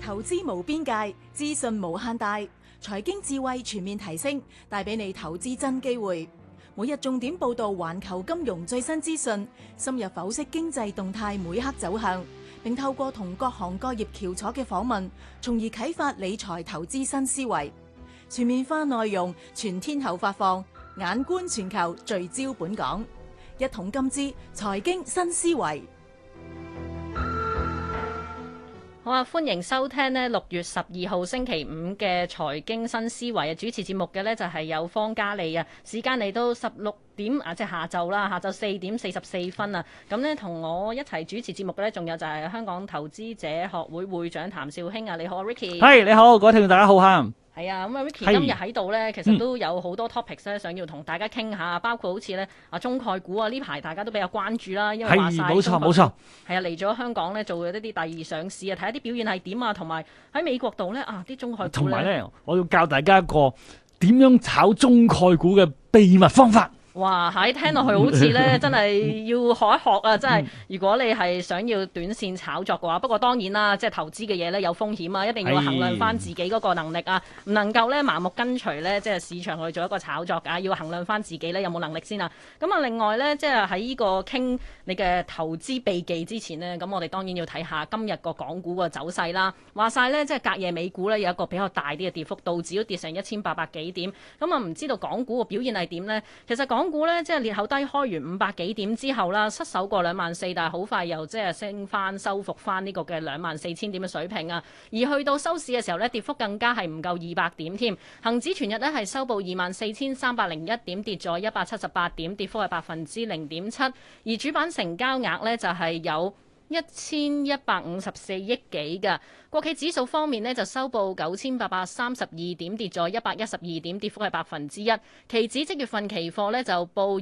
投資無邊界，資訊無限大，財經智慧全面提升，帶俾你投資真機會。每日重點報道環球金融最新資訊，深入剖析經濟動態每刻走向，並透過同各行各業翹楚嘅訪問，從而啟發理財投資新思維。全面化內容，全天候發放，眼觀全球，聚焦本港。一桶金之財經新思維。 好啊！歡迎收聽呢6月12號星期五嘅財經新思維啊！主持節目嘅呢就係有方嘉莉啊。時間嚟到16點啊，即係下晝啦，下晝4點44分啊。咁呢，同我一齊主持節目嘅呢，仲有就係香港投資者學會會長譚紹興啊。你好 ，Ricky。 係，你好，各位聽眾大家好嚇。 係啊，咁啊 Ricky 今日喺度呢，其實都有好多 topics 咧，想要同大家傾下，包括好似呢中概股啊，呢排大家都比較關注啦，因為話曬冇錯，係啊，嚟咗香港呢，做一啲第二上市啊，睇下啲表現係點啊，同埋喺美國度呢，啲中概股同埋呢， 我要教大家一個點樣炒中概股嘅秘密方法。 哇！喺聽落去好似咧，真係要學一學啊！真係，如果你係想要短線炒作嘅話，不過當然啦，即係投資嘅嘢咧有風險啊，一定要衡量翻自己嗰個能力啊，唔能夠咧盲目跟隨咧，即係市場去做一個炒作㗎，要衡量翻自己咧有冇能力先啊！咁啊，另外咧，即係喺呢個傾你嘅投資秘技之前呢，咁我哋當然要睇下今日個港股個走勢啦。話晒咧，即係隔夜美股咧有一個比較大啲嘅跌幅，道指都跌成1800幾點。咁啊，唔知道港股嘅表現係點呢？其實港股咧即係裂口低開完500幾點之後啦，失守過24000，但係好快又即係升翻收復翻呢個嘅24000點嘅水平啊。而去到收市嘅時候咧，跌幅更加係唔夠200點添。恒指全日咧係收報24301點，跌咗178點，跌幅係0.7%。而主板成交額咧就係有1154億幾㗎。國企指數方面呢，就收報9832點，跌咗112點，跌幅係1%。期指即月份期貨呢，就報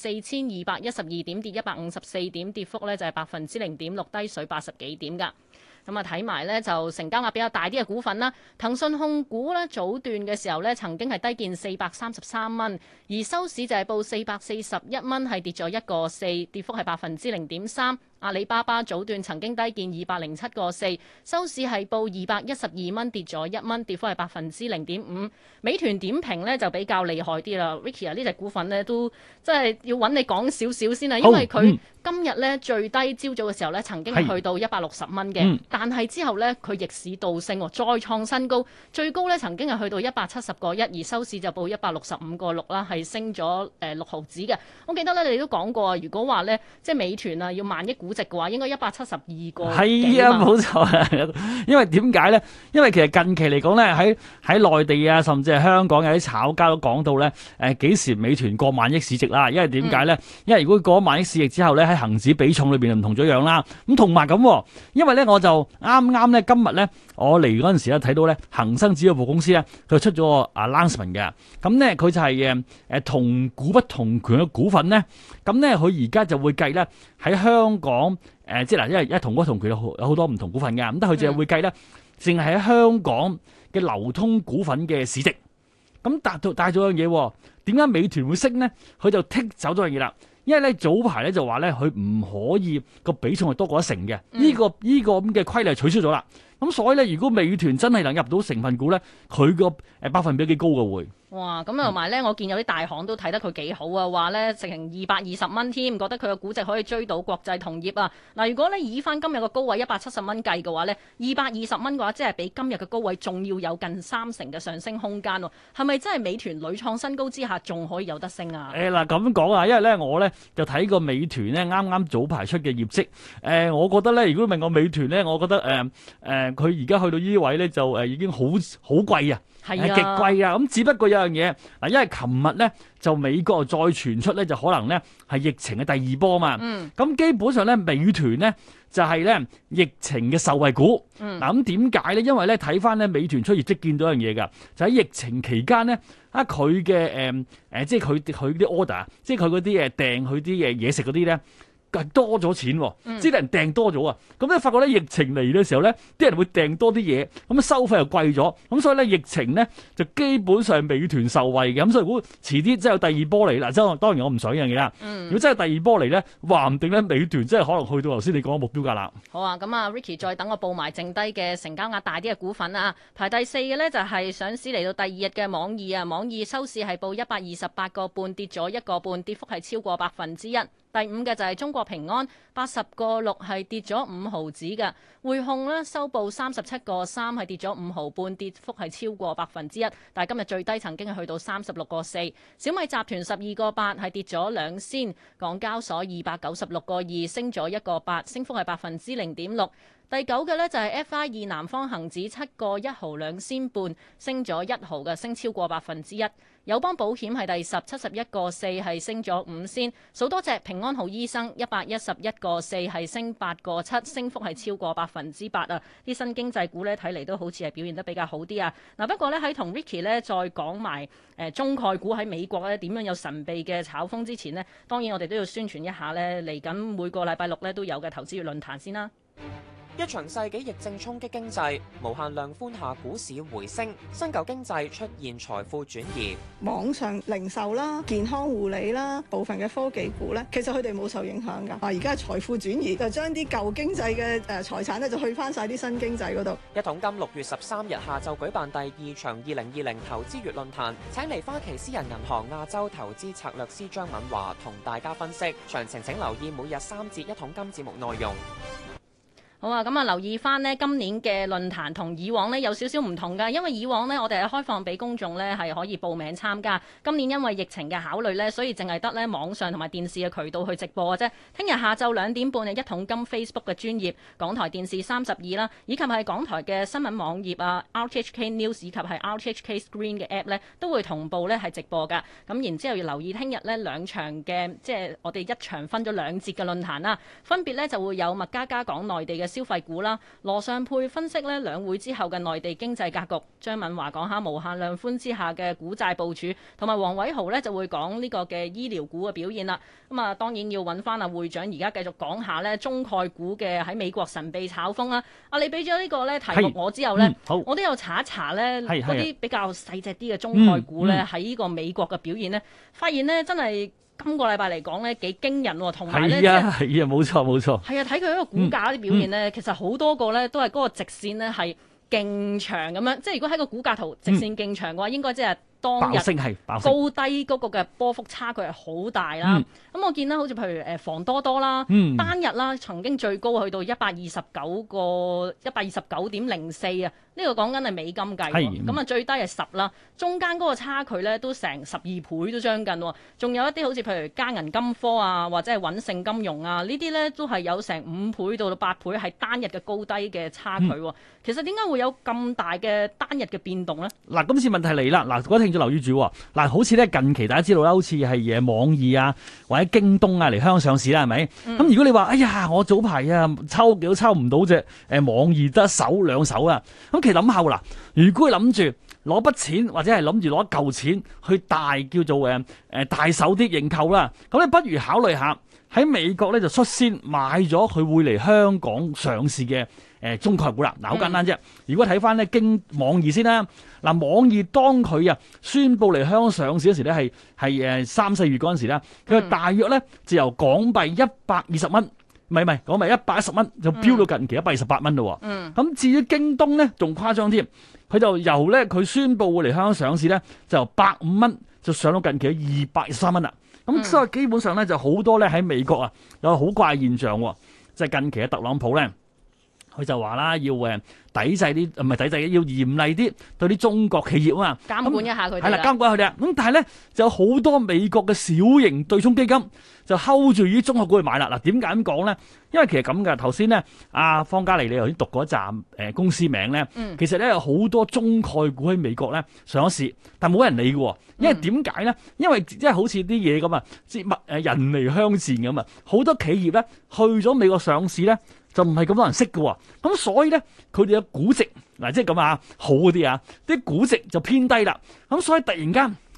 24212點，跌154點，跌幅呢就係0.6%，低水80幾點㗎。咁啊，睇埋呢就成交額比較大啲嘅股份啦。騰訊控股呢，早段嘅時候呢曾經係低見433蚊，而收市就係報441蚊，係跌咗1個4，跌幅係0.3%。阿里巴巴早段曾經低見207個4，收市係報212蚊，跌咗1蚊，跌幅係0.5%。美團點評呢就比較厲害啲啦。Ricky 啊，呢隻股份呢都真係要揾你講少少先啊，因為佢今日呢最低朝早嘅時候呢曾經去到160蚊嘅，但係之後呢，佢逆市倒升，再創新高，最高呢曾經係去到170個1，而收市就報165個6啦，係升咗6毫子嘅。我記得呢，你都講過，如果話呢，即係美團啊要萬億估值嘅話，應該172個幾。 係啊，冇錯啊。因為點解呢？因為其實近期嚟講呢，喺內地啊，甚至係香港有啲炒家都講到呢，幾時美團過萬億市值啦？因為點解呢？因為如果過萬億市值之後呢，喺恒指比重裏邊就唔同咗樣啦。咁同埋咁，因為呢，我就啱啱呢今日呢，我嚟嗰陣時咧睇到呢恒生指數公司呢，佢出咗個 announcement 嘅。咁呢，佢就係同股不同權嘅股份呢。咁呢，佢而家就會計呢喺香港。即係嗱，因為同股同權有好多唔同股份嘅，咁但佢就係會計咧，淨係喺香港嘅流通股份嘅市值。咁帶咗樣嘢，點解美團會升呢？佢就剔走咗樣嘢啦。因為咧早排咧就話咧，佢唔可以個比重係多過1成嘅。呢個咁嘅規例取消咗啦。咁所以咧，如果美團真係能入到成分股咧，佢個百分比幾高嘅會。 哇！咁同埋咧，我見有啲大行都睇得佢幾好啊，話咧成220蚊添，覺得佢嘅估值可以追到國際同業啊。嗱，如果咧以翻今日嘅高位170蚊計嘅話咧，220蚊嘅話，即係比今日嘅高位仲要有近3成嘅上升空間喎。係咪真係美團屢創新高之下，仲可以有得升啊？ 嗱咁講啊，因為咧我咧就睇過美團咧啱啱早排出嘅業績。我覺得咧，如果問我美團咧，我覺得佢而家去到呢啲位咧就已經好貴啊。係極貴啊！咁只不過有樣嘢嗱，因為琴日咧就美國再傳出咧，就可能咧係疫情嘅第二波嘛。咁基本上咧，美團咧就係咧疫情嘅受惠股。嗱咁點解咧？因為咧睇翻咧美團出業績見到樣嘢㗎，就喺疫情期間咧佢嘅即係佢啲 order，即係佢嗰啲訂佢啲嘢食嗰啲咧。 係多咗錢喎，即係人訂多咗啊！咁咧發覺咧疫情嚟嘅時候咧，啲人會訂多啲嘢，咁收費又貴咗，咁所以咧疫情咧就基本上美團受惠嘅，咁所以如果遲啲真係有第二波嚟嗱，即係當然我唔想呢樣嘢啦。如果真係第二波嚟咧，話唔定咧美團真係可能去到頭先你講嘅目標價啦。 好啊，咁啊 Ricky 再等我報埋剩低嘅成交額大啲嘅股份啊，排第4嘅呢就係上市嚟到第2日嘅網易啊，網易收市係報128個半，跌咗1個半，跌幅係超過1%。第5嘅就係中國平安，80個6係跌咗5毫子嘅。匯控呢收報37個3係跌咗5毫半，跌幅係超過1%。但係今日最低曾經係去到36個4。小米集團12個8係跌咗2仙。港交所296個2升咗1個8，升幅係0.6%。第9嘅呢就係 FI2 南方恒指7個1毫2仙半，升咗1毫嘅，升超過1%。友邦保險係第10 71個4係升咗5仙。數多隻平安好醫生111個4係升8個7，升幅係超過8%啊！啲新經濟股呢睇嚟都好似係表現得比較好啲啊！嗱，不過呢，喺同 Ricky 呢再講埋中概股喺美國呢點樣有神秘嘅炒風之前呢，當然我哋都要宣傳一下呢嚟緊每個禮拜6呢都有嘅投資月論壇先啦。 一場世紀疫症衝擊經濟，無限量寬下股市回升，新舊經濟出現財富轉移。 網上零售啦、健康護理啦、部分嘅科技股咧，其實佢哋冇受影響㗎。而家係財富轉移，就將啲舊經濟嘅財產咧，就去翻晒啲新經濟嗰度。 一桶金6月13日下晝舉辦第2場2020投資月論壇，請嚟花旗私人銀行亞洲投資策略師張敏華同大家分析。詳情請留意每日3節一桶金節目內容。 好啊，咁啊留意翻呢今年嘅論壇同以往呢有少少唔同㗎，因為以往呢我哋係開放俾公眾呢係可以報名參加，今年因為疫情嘅考慮呢，所以淨係得呢網上同埋電視嘅渠道去直播嘅啫。聽日下晝2點半嘅一桶金 Facebook 嘅專頁、港台電視32啦，以及係港台嘅新聞網頁啊、RTHK News 以及係 RTHK Screen 嘅 App 呢，都會同步呢係直播㗎。咁然之後要留意聽日呢2場嘅，即係我哋一場分咗2節嘅論壇啦，分別呢就會有麥嘉嘉講內地嘅消費股啦，羅尚佩分析呢兩會之後嘅內地經濟格局，張敏華講下無限量寬之下嘅股債部署，同埋黃偉豪呢就會講呢個嘅醫療股嘅表現啦。咁啊，當然要揾翻阿會長而家繼續講下呢中概股嘅喺美國神秘炒風啦。你俾咗呢個呢題目我之後呢，我都有查一查呢嗰啲比較細隻啲嘅中概股呢喺呢個美國嘅表現呢，發現呢真係。今個禮拜嚟講呢幾驚人喎，同埋呢， 係啊，冇錯冇錯。 係啊，睇佢一個股價啲表現呢，其實好多個呢都係嗰個直線呢係勁長咁樣，即係如果喺個股價圖直線勁長嘅話，應該即係當日高低嗰個嘅波幅差距係好大啦。咁我見啦，好似譬如房多多啦，單日啦曾經最高去到129.04啊。呢個講緊係美金計喎，咁啊最低係10啦，中間嗰個差距咧都成12倍都將近喎，仲有一啲好似譬如嘉銀金科啊，或者係穩盛金融啊，呢啲咧都係有成5倍到8倍係單日嘅高低嘅差距喎。其實點解會有咁大嘅單日嘅變動咧？ 嗱，今次問題嚟啦，嗱，各位聽眾留意住喎，嗱，好似咧近期大家知道啦，好似係網易啊或者京東啊嚟香港上市啦，係咪？咁如果你話哎呀，我早排啊抽幾都抽唔到隻網易得2手啊，咁其實諗下喎，嗱，如果佢諗住攞筆錢或者係諗住攞一嚿錢去叫做大手啲認購啦，咁你不如考慮下喺美國咧就率先買咗佢會嚟香港上市嘅中概股啦。嗱，好簡單啫。如果睇翻咧經網易先啦，嗱，網易當佢宣布嚟香港上市嗰時咧係3、4月嗰陣時咧，佢大約咧就由港幣120蚊。唔係港幣110蚊就飆到近期128蚊咯。咁至於京東咧，仲誇張添，佢就由咧佢宣布會嚟香港上市咧，就由105蚊就上到近期223蚊啦。咁所以基本上咧就好多咧喺美國有好怪現象，即係近期嘅特朗普咧，佢就話啦要抵制啲唔係抵制，要嚴厲啲對啲中國企業啊嘛， 監管一下佢哋。 係啦，監管佢哋啊。咁但係咧就有好多美國嘅小型對沖基金就 hold 住啲中國股去買啦。嗱，點解咁講咧？因為其實咁嘅，頭先咧阿方嘉莉你頭先讀嗰一站公司名咧，其實咧有好多中概股喺美國咧上咗市，但冇人理嘅。因為點解咧？因為即係好似啲嘢咁啊，人離鄉賤咁啊，好多企業咧去咗美國上市咧，就唔係咁多人識嘅。咁所以咧，佢哋嘅估值嗱，即係咁啊，好嗰啲啊，啲估值就偏低啦。咁所以突然間佢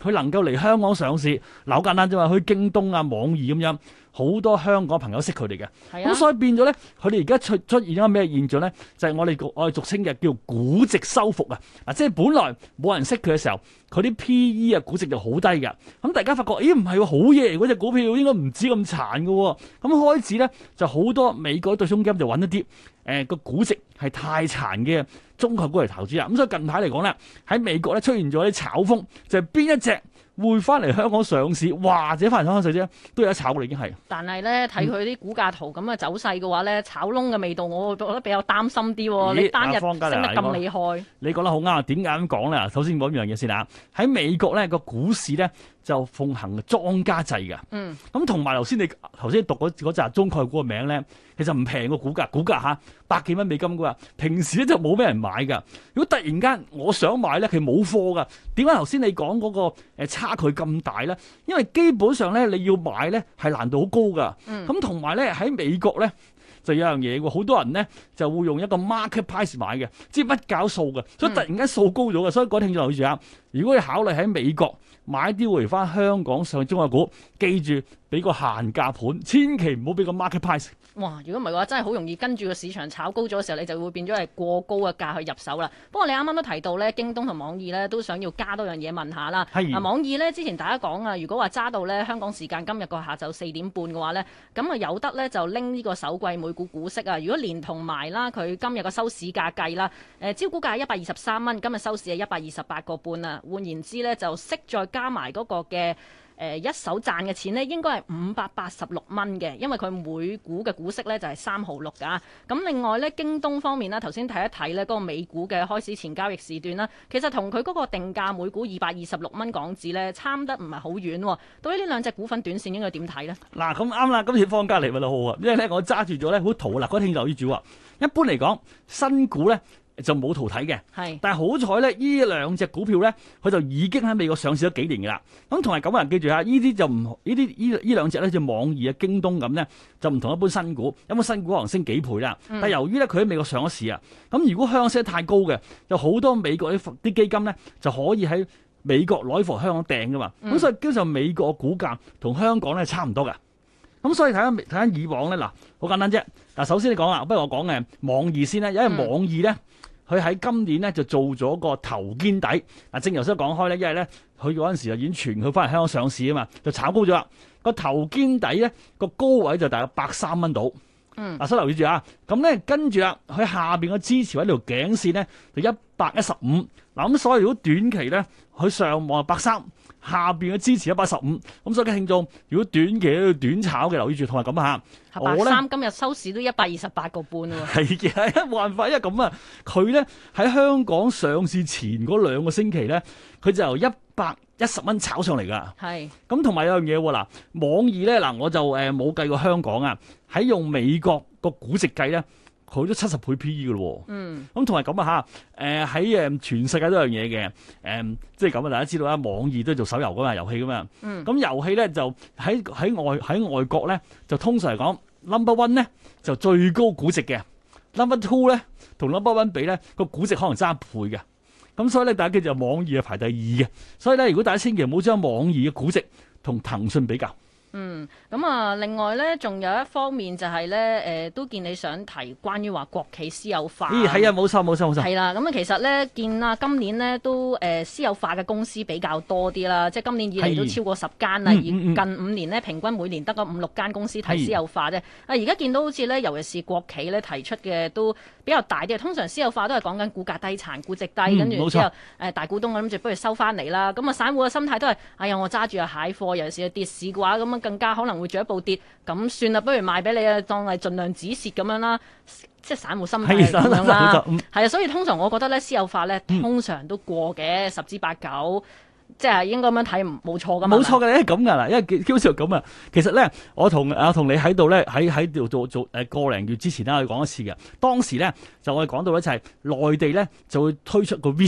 佢能夠嚟香港上市，嗱好簡單啫嘛，去京東啊、網易咁樣，好多香港朋友識佢哋嘅。咁所以變咗咧，佢哋而家出現咗咩現象咧？就係我哋俗稱嘅叫估值收復啊！即係本來冇人識佢嘅時候，佢啲 P/E 啊估值就好低㗎。咁大家發覺，咦唔係喎，好嘢嗰隻股票應該唔止咁殘㗎喎。咁開始咧就好多美國對沖基金就揾一啲個估值係太殘嘅中概股嚟投資啦。咁所以近排嚟講咧，喺美國咧出現咗啲炒風，就係邊一隻會翻嚟香港上市，或者翻嚟香港上市咧，都有得炒㗎啦，已經係。 但係咧睇佢啲股價圖咁嘅走勢嘅話咧，炒窿嘅味道，我覺得比較擔心啲喎。你單日升得咁厲害， 你講得好啱。點解咁講咧？首先講一樣嘢先啊。喺美國咧個股市咧就奉行莊家制嘅。咁同埋頭先讀嗰扎中概股嘅名咧，其實唔平個股價嚇100幾蚊美金㗎。平時咧就冇咩人買㗎。如果突然間我想買咧，佢冇貨㗎。點解頭先你講嗰個差距咁大咧？因為基本上咧你要買咧係難度好高㗎。咁同埋咧喺美國咧就有樣嘢喎，好多人咧就會用一個 market price 買嘅，即係乜搞數嘅，所以突然間數高咗嘅。所以各位聽眾留意住啊，如果你考慮喺美國買啲回翻香港上中國股，記住俾個限價盤，千祈唔好俾個 market price。 哇！如果唔係嘅話，真係好容易跟住個市場炒高咗嘅時候，你就會變咗係過高嘅價去入手啦。不過你啱啱都提到咧，京東同網易咧都想要加多樣嘢問下啦。 係。 網易咧之前大家講啊，如果話揸到咧香港時間今日個下晝4點半嘅話咧，咁啊有得咧就拎呢個首季每股股息啊。如果連同埋啦，佢今日個收市價計啦，招股價係123蚊，今日收市係128個半啊。換言之咧，就息再加埋嗰個嘅。一手賺嘅錢呢應該係586蚊嘅，因為佢每股嘅股息呢就係3毫6㗎。咁另外呢，京東方面啦，頭先睇一睇呢嗰個美股嘅開市前交易時段啦，其實同佢嗰個定價每股226蚊港紙呢，差得唔係好遠喎。對於呢兩隻股份短線應該點睇呢？ 嗱，咁啱啦，今次方家嚟咪好啊，因為呢我揸住咗呢好圖啦，嗰啲聽眾留意住啊。一般嚟講，新股呢就冇圖睇嘅，但係好彩咧，呢兩隻股票咧，佢就已經喺美國上市咗幾年㗎啦。咁同埋咁嘅人記住下，呢啲就唔呢兩隻咧，就網易啊、京東咁咧，就唔同一般新股。一般新股可能升幾倍啦，但係由於咧佢喺美國上咗市啊，咁如果香港升得太高嘅，有好多美國啲基金咧就可以喺美國攞貨香港訂㗎嘛。咁所以基本上美國嘅股價同香港咧差唔多㗎。咁所以睇翻以往咧，嗱好簡單啫。嗱首先你講啦，不如我講嘅網易先啦，因為網易咧。佢喺今年咧就做咗個頭肩底，嗱正如頭先講開咧，因為咧佢嗰陣時就已經傳佢翻嚟香港上市啊嘛，就炒高咗啦。個頭肩底咧個高位就大概103蚊到，嗱所以留意住啊。咁咧跟住啦，佢下邊個支持位條頸線咧就115，嗱咁所以如果短期咧佢上望係130。下邊嘅支持115，咁所以嘅聽眾，如果短期喺度短炒嘅，留意住，同埋咁嚇。 130今日收市都128個半喎。 係嘅，冇辦法，因為咁啊，佢咧喺香港上市前嗰2個星期咧，佢就由110蚊炒上嚟㗎。係。咁同埋有樣嘢喎，嗱，網易咧嗱，我就冇計過香港啊，喺用美國個估值計咧。佢都70倍 P/E 嘅咯喎，咁同埋咁啊嚇，喺全世界都有樣嘢嘅，即係咁啊！大家知道啦，網易都係做手遊噶嘛，遊戲噶嘛，咁遊戲咧就喺外國咧，就通常嚟講 number one 咧就最高估值嘅 ，number two 咧同 number one 比咧個估值可能爭1倍嘅，咁所以咧大家記住網易係排第2嘅，所以咧如果大家千祈唔好將網易嘅估值同騰訊比較。 咁啊，另外咧，仲有一方面就係咧，都見你想提關於話國企私有化。 咦，係啊，冇錯。係啦，咁啊，其實咧，見啊，今年咧都私有化嘅公司比較多啲啦，即係今年以嚟都超過10間啦，而近5年咧，平均每年得個5-6間公司提私有化啫。而家見到好似咧，尤其是國企咧提出嘅都比較大啲，通常私有化都係講緊股價低殘、估值低，跟住之後大股東諗住不如收翻嚟啦。咁啊，散戶嘅心態都係，哎呀，我揸住啊蟹貨，尤其是跌市嘅話，咁啊更加可能會進一步跌，咁算啦，不如賣俾你啊，當係盡量止蝕咁樣啦。即係散戶心態咁樣啦。係啊，所以通常我覺得咧，私有化咧通常都過嘅10之8九。即係應該咁樣睇冇錯噶嘛？冇錯嘅，咁㗎啦，因為基本上咁啊。其實咧，我同你喺度咧，喺度做個零月之前咧，我講一次嘅。當時咧就我哋講到咧就係內地咧就會推出個 REIT 啊，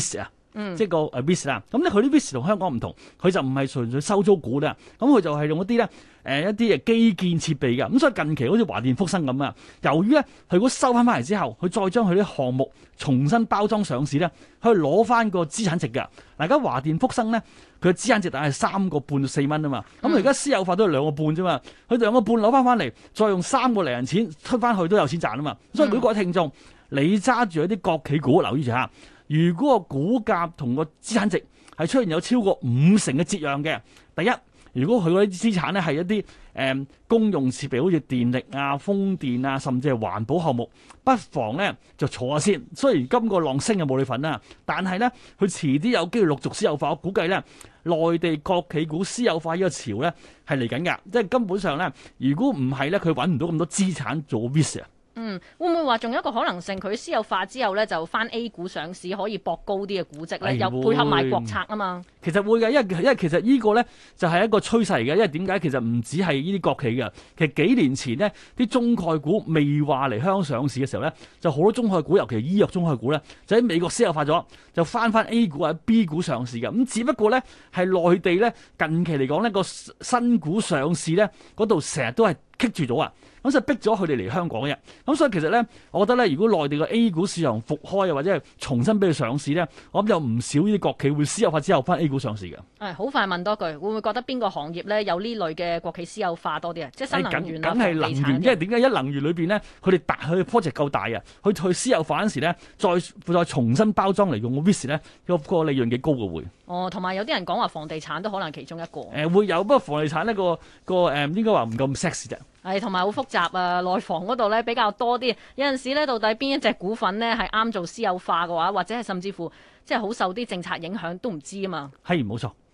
即係個REITs 啦。咁咧佢啲 REITs 同香港唔同，佢就唔係純粹收租股啦，咁佢就係用一啲咧一啲基建設備嘅。咁所以近期好似華電福生咁啊，由於咧佢如果收翻嚟之後，佢再將佢啲項目重新包裝上市咧，佢攞翻個資產值㗎。嗱，而家華電福生咧，佢嘅資產值大概係3個半到4蚊啊嘛。咁而家私有化都係2個半啫嘛，佢2個半攞翻嚟，再用3個零銀錢出翻去都有錢賺啊嘛。所以每個聽眾，你揸住一啲國企股，留意住下，如果個股價同個資產值係出現有超過50%嘅折讓嘅，第一，如果佢嗰啲資產咧係一啲公用設備，好似電力啊、風電啊，甚至係環保項目，不妨咧就坐下先。雖然今個浪升嘅冇你份啦，但係咧佢遲啲有機會陸續私有化，我估計咧內地國企股私有化呢個潮咧係嚟緊㗎，即係根本上咧，如果唔係咧，佢揾唔到咁多資產做 REITs 啊。 會唔會話仲有一個可能性，佢私有化之後咧就翻 A 股上市，可以搏高啲嘅估值咧，又配合埋國策啊嘛？ 其實會嘅，因為其實呢個咧就係一個趨勢嘅，因為點解其實唔止係呢啲國企嘅，其實幾年前呢啲中概股未話嚟香港上市嘅時候咧，就好多中概股，尤其係醫藥中概股咧，就喺美國私有化咗，就翻 A 股或者 B 股上市嘅。咁只不過咧係內地咧近期嚟講呢個新股上市咧嗰度成日都係棘住咗啊！咁就逼咗佢哋嚟香港嘅。咁所以其實咧，我覺得咧，如果內地嘅 A 股市場復開，又或者係重新俾佢上市咧，我諗有唔少呢啲國企會私有化之後翻 A 股上市嘅。 好快問多句，會唔會覺得邊個行業咧有呢類嘅國企私有化多啲啊？即係新能源啊、 梗係能源，因為點解一能源裏邊咧，佢哋佢 project 夠大啊，去私有化嗰陣時咧，再重新包裝嚟用個 REITs 咧，個利潤幾高嘅會。 同埋有啲人講話房地產都可能其中一個。 會有，不過房地產呢個應該話唔咁 sexy 啫。 同埋好複雜啊！內房嗰度咧比較多啲，有陣時咧到底邊一隻股份咧係啱做私有化嘅話，或者係甚至乎即係好受啲政策影響都唔知啊嘛。 係冇錯。